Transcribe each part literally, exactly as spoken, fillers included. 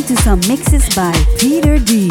to some mixes by Peter D.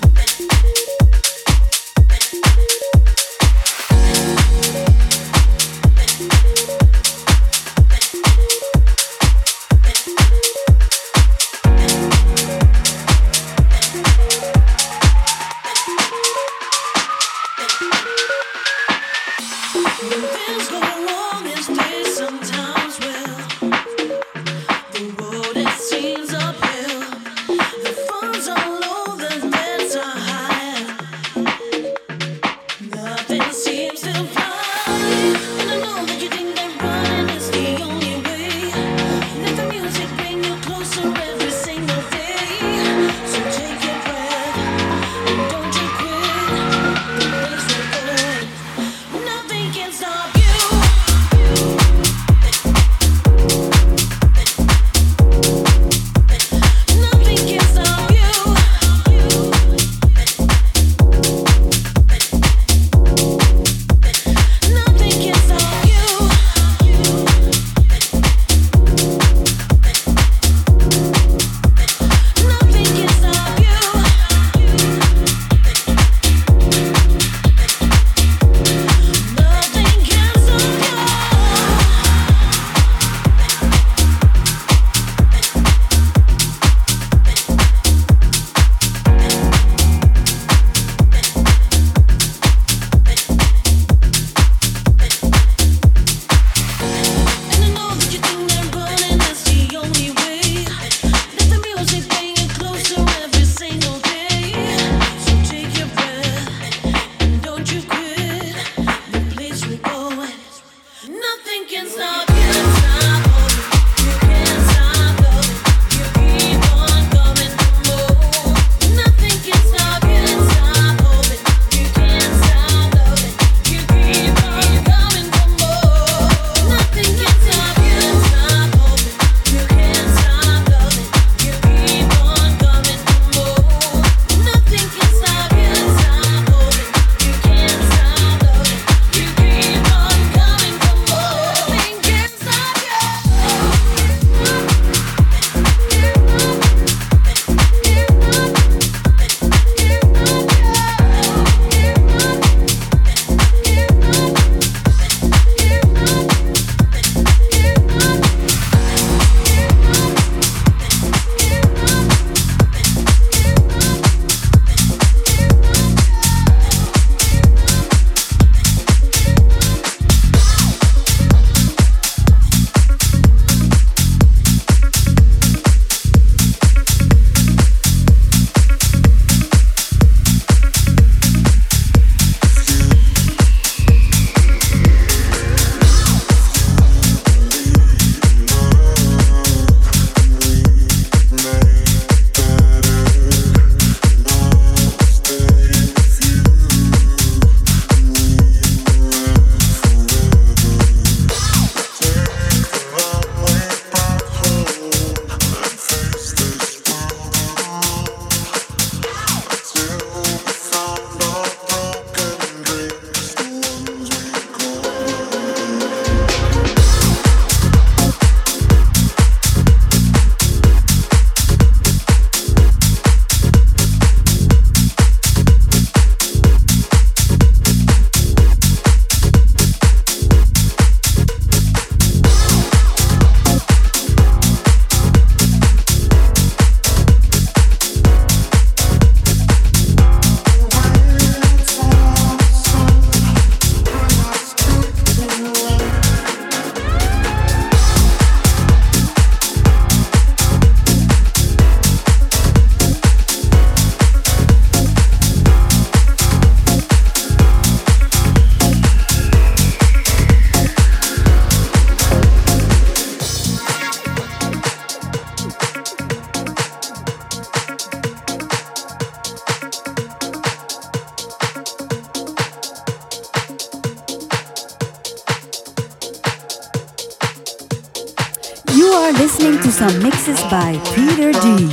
are listening to some mixes by Peter D.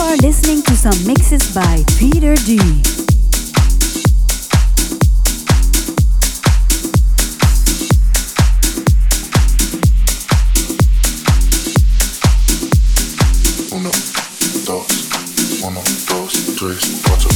are listening to some mixes by Peter D. Uno, dos, uno, dos, tres, cuatro.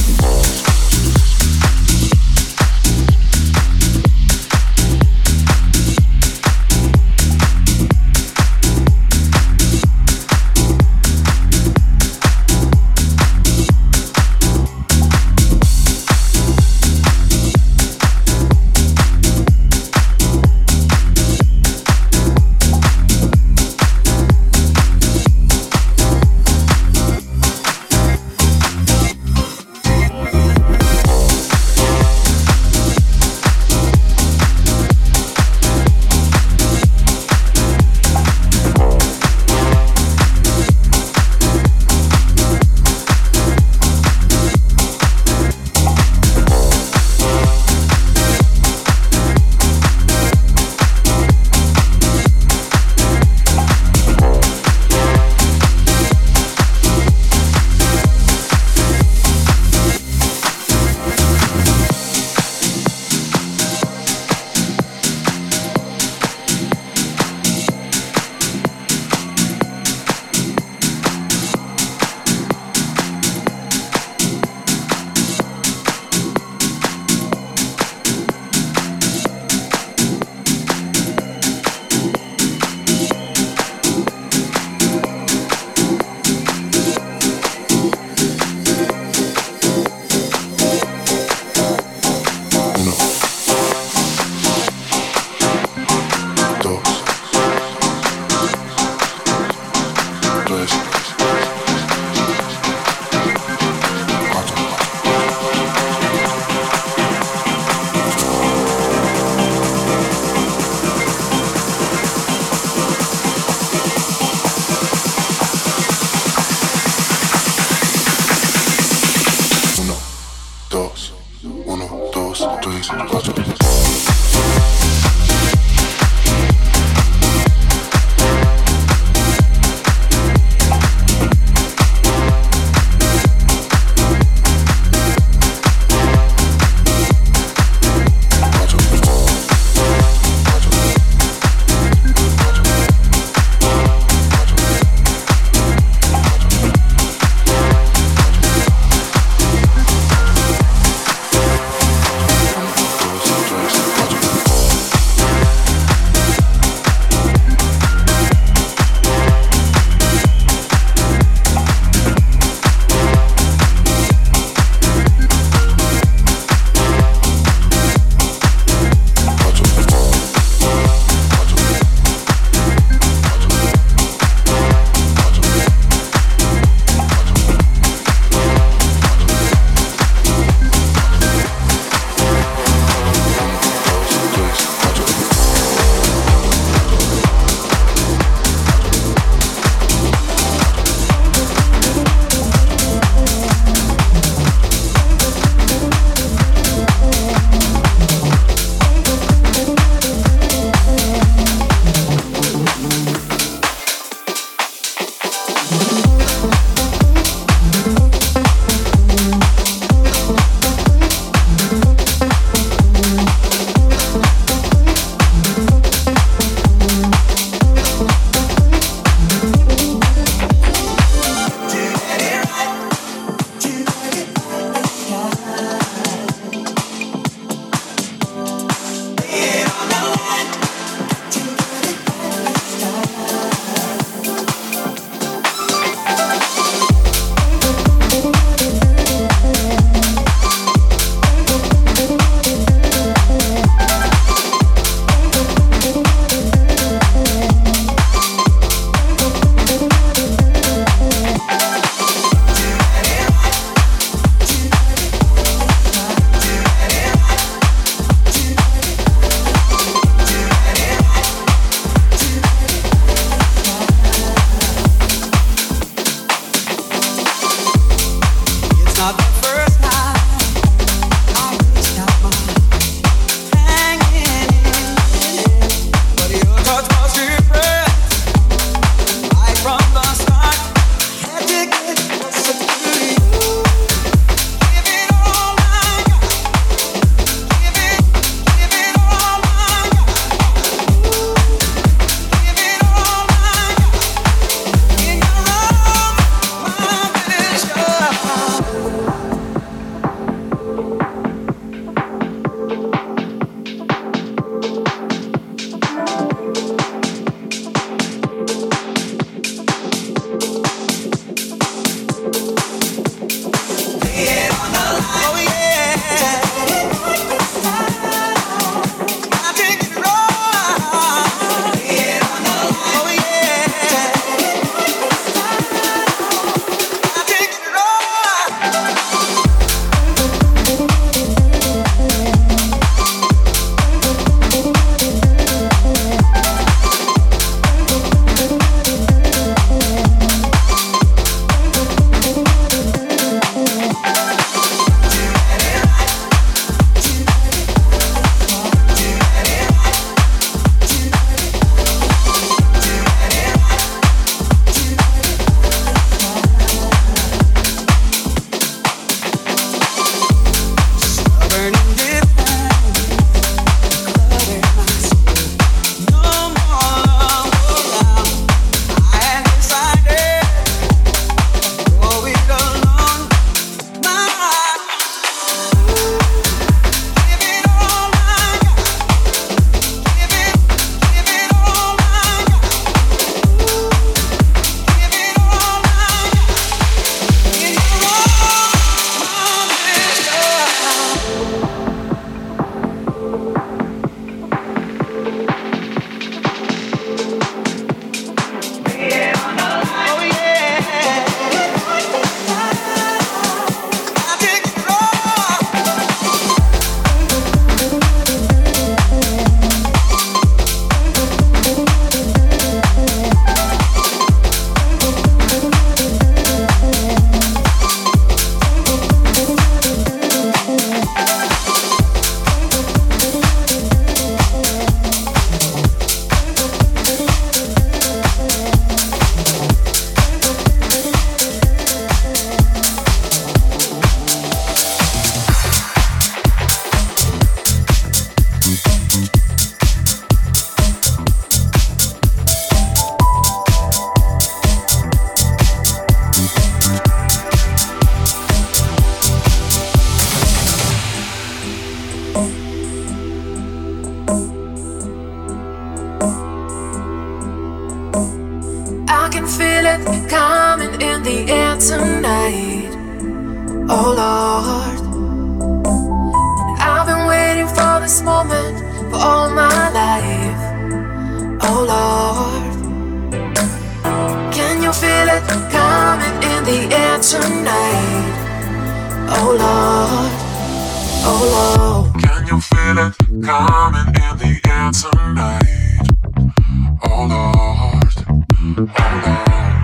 can feel it coming in the air tonight. Oh Lord, and I've been waiting for this moment for all my life. Oh Lord, can you feel it coming in the air tonight? Oh Lord, oh Lord, can you feel it coming in the air tonight? Oh Lord, oh Lord.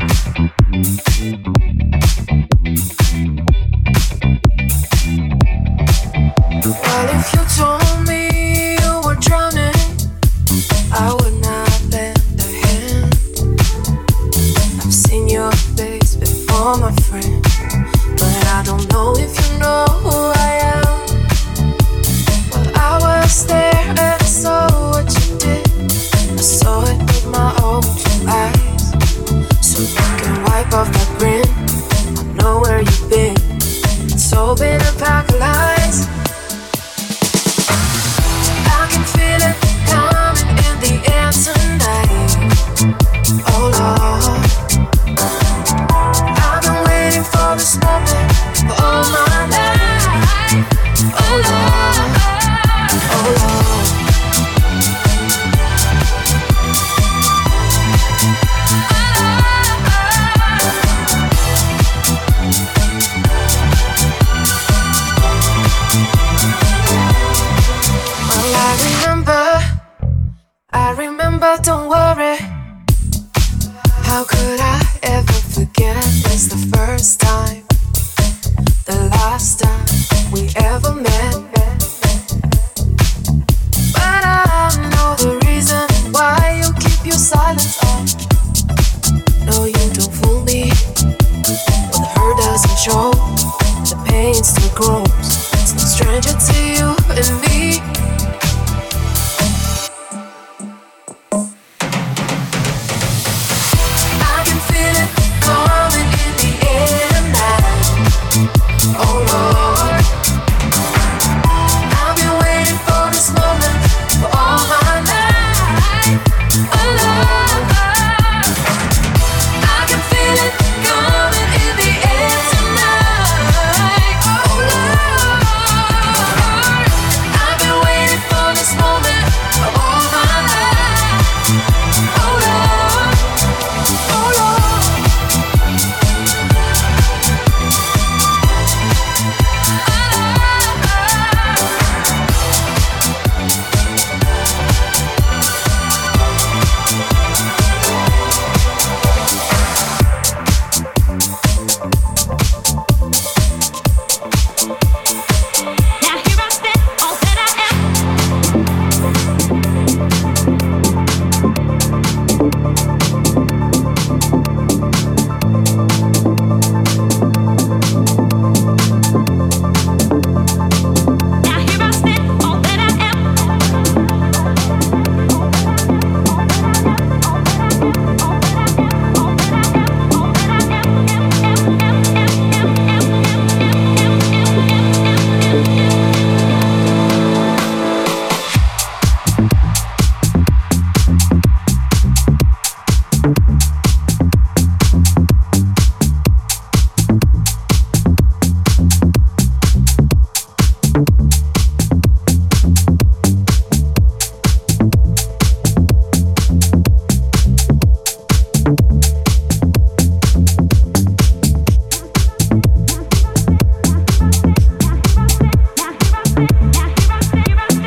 Well, if you told me you were drowning, I would not lend a hand. I've seen your face before, my friend, but I don't know if you know who I am. Well, I was there and I saw what you did. I saw it with my own two eyes. So you can wipe off that grin. I know where you've been. It's all been a pack of lies. I can feel it coming in the air tonight. Oh Lord, I've been waiting for this moment for all my life. Oh Lord, oh Lord. Well, I remember, I remember, don't worry. How could I ever forget? It's the first time, the last time we ever met. But I know the reason why you keep your silence on. No, you don't fool me. When the hurt doesn't show, the pain still grows. It's no stranger to you and me. I can feel it coming in the air now. Oh Lord, I've been waiting for this moment for all my life. Oh Lord, I can feel it coming in the air tonight. Oh Lord, I've been waiting for this moment for all my life. Oh Lord, oh Lord. Now here I stand, all that I am. Now here I stand, all that I am.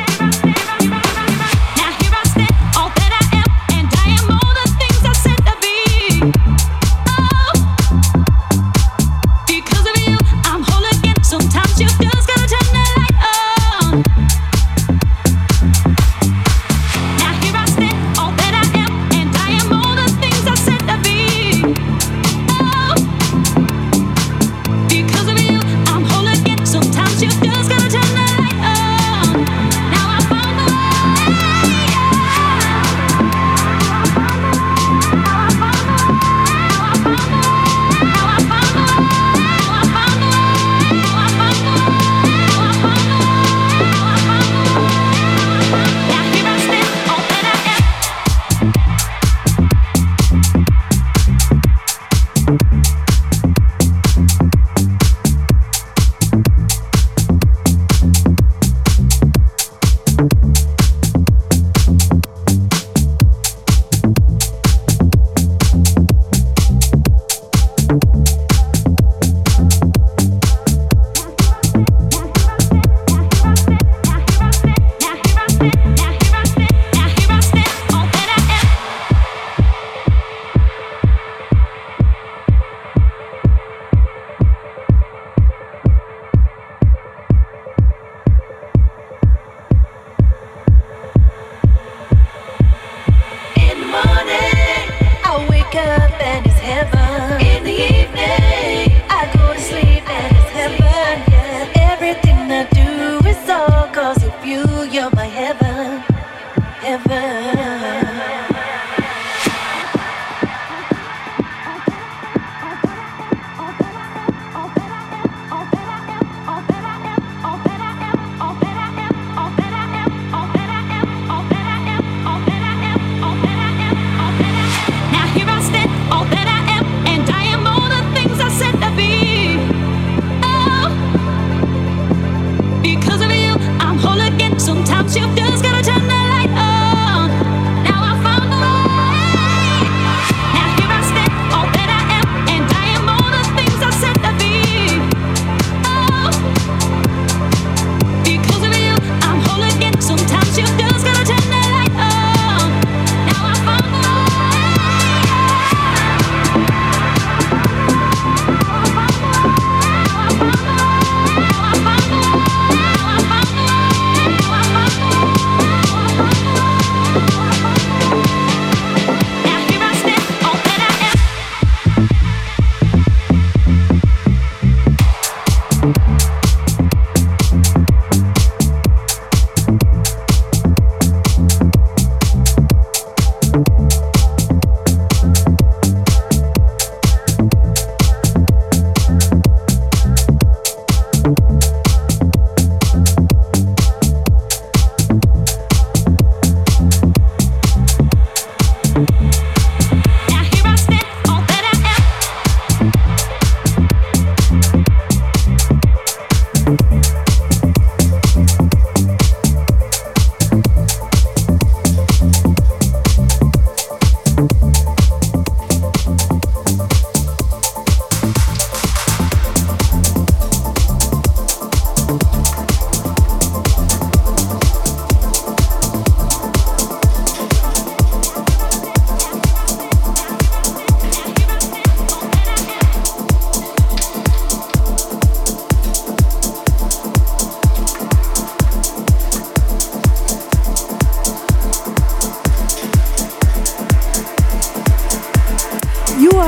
Now here I stand, all that I am, and I am all the things I said to be.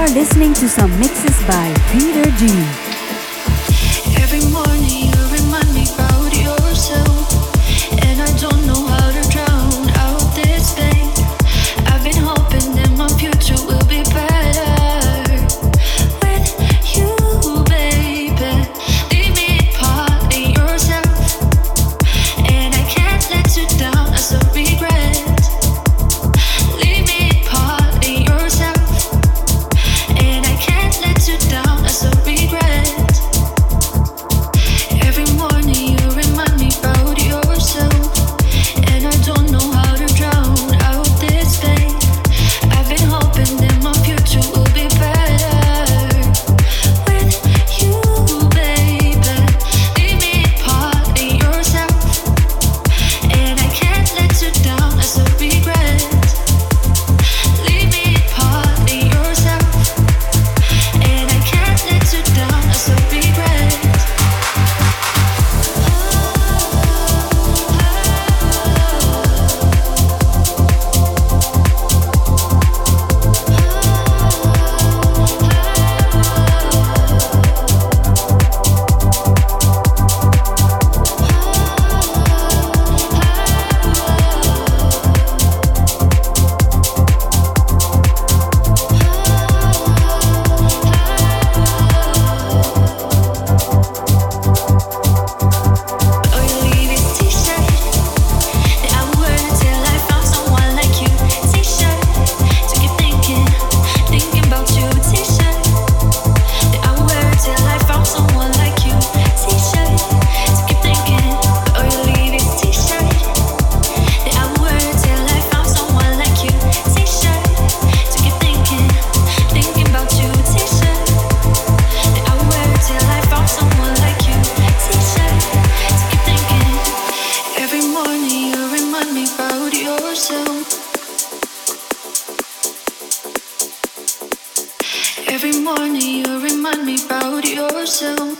are listening to some mixes by Peter D. Every morning you remind me about yourself, and I don't know how to drown out this pain. I've been hoping that my future will be better with you, baby. Leave me part of yourself, and I can't let you down as a regret. Leave me part of yourself, and I can't let you down as a regret. Every morning you remind me about yourself, and I don't know how to drown out this pain. I've been hoping that my future will be better with you, baby. Leave me part of yourself, and I can't let you down as a regret. Leave me part of yourself, and I can't let you down as a regret. Oh, you leave this t-shirt that I would wear until I found someone like you. T-shirt to keep thinking, thinking about you. T-shirt that I would wear until I found someone like you. T-shirt to keep thinking. Oh, you leave this t-shirt that I would wear until I found someone like you. T-shirt to keep thinking, thinking about you. T-shirt that I would wear until I found someone like you. T-shirt to keep thinking. Every morning you remind me about yourself. Every morning you remind me about yourself.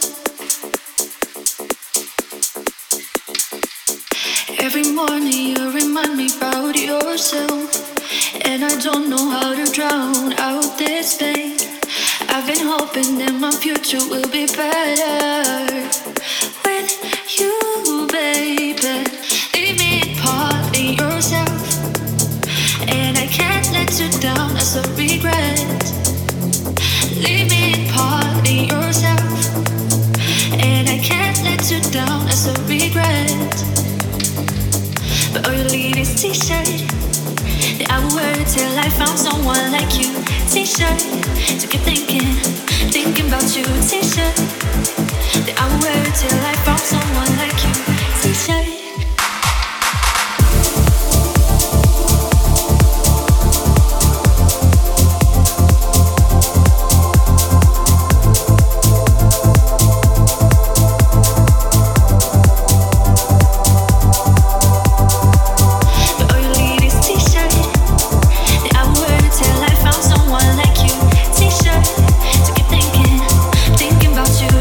Every morning you remind me about yourself, and I don't know how to drown out this pain. I've been hoping that my future will be better with you, baby. Leave me part of yourself, and I can't let you down as a regret. Leave me part of yourself, and I can't let you down as a regret. But oh, you leave this t-shirt that I would wear till I found someone like you. T-shirt to keep thinking, thinking about you. T-shirt that I would wear till I found someone like you. T-shirt. But oh, you leave this t-shirt that I would wear till I found someone like you. T-shirt to keep thinking, thinking about you.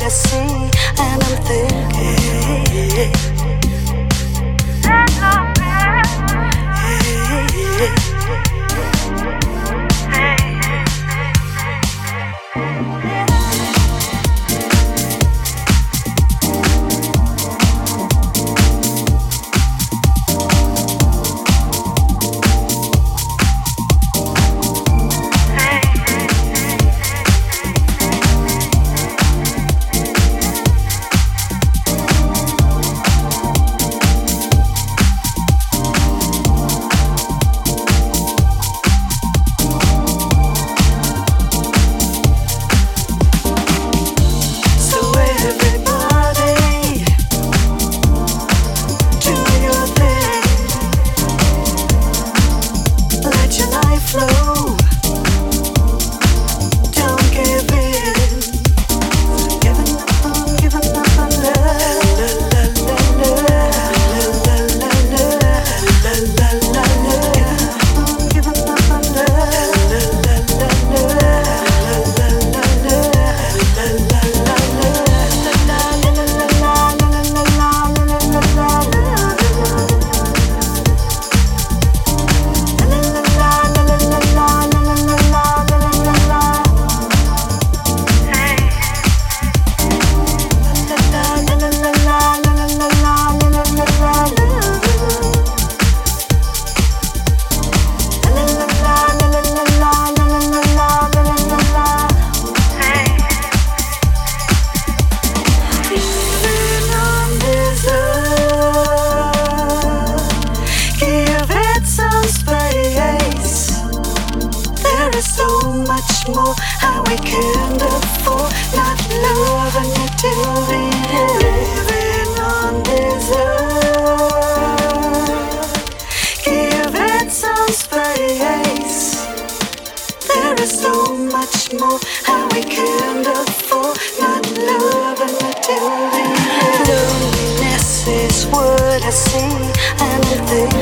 Loneliness is what I see, and I think